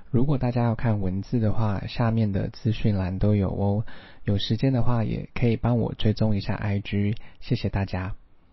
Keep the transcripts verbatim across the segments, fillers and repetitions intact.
如果大家要看文字的話，下面的資訊欄都有哦。有時間的話，也可以幫我追蹤一下 I G， 謝謝大家。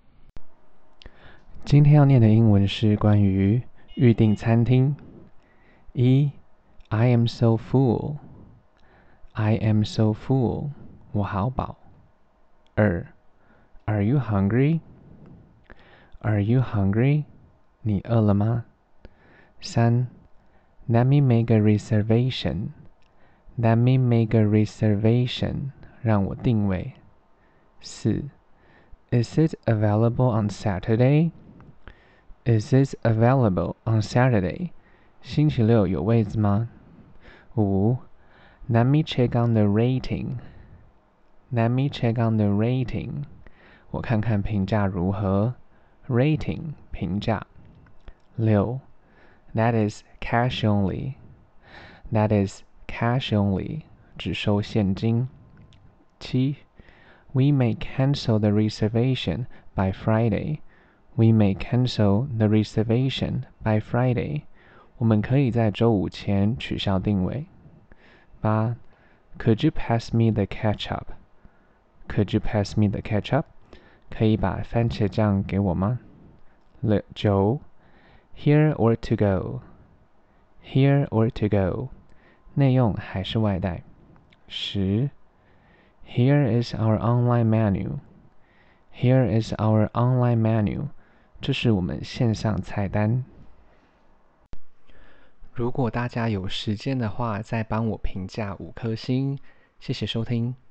今天要念的英文是關於預訂餐廳。一 I am so full. I am so full. 我好飽。二 Are you hungry? Are you hungry? 你餓了嗎？三 Let me make a reservation. Let me make a reservation. 讓我訂位。四 Is it available on Saturday? Is it available on Saturday? 星期六有位子嗎？五 Let me check on the rating. Let me check on the rating. 我看看評價如何。Rating 評價。六 That is cash only. That is cash only. 只收現金。七 We may cancel the reservation by Friday. We may cancel the reservation by Friday. 我們可以在週五前取消訂位。八 Could you pass me the ketchup? Could you pass me the ketchup? 可以把番茄醬給我嗎？九 Here or to go? Here or to go? 內用還是外帶？十 Here is our online menu. Here is our online menu. 這是我們線上菜單。如果大家有時間的話，再幫我評價五顆星，謝謝收聽。